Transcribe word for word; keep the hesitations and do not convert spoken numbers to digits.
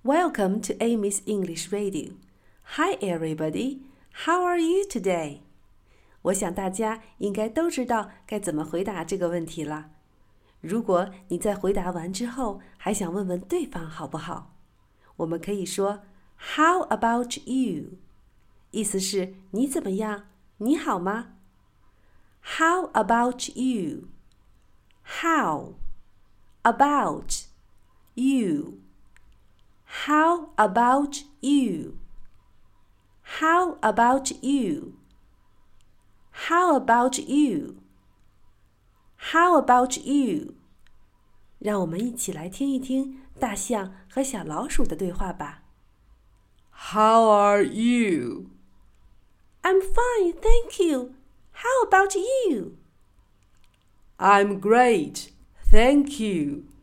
Welcome to Amy's English Radio. Hi everybody, how are you today? 我想大家应该都知道该怎么回答这个问题了。如果你在回答完之后还想问问对方好不好，我们可以说 How about you? 意思是你怎么样？你好吗？ How about you? How about you? How about you? How about you? How about you? How about you? 让我们一起来听一听大象和小老鼠的对话吧。 How are you? I'm fine, thank you. How about you? I'm great, thank you.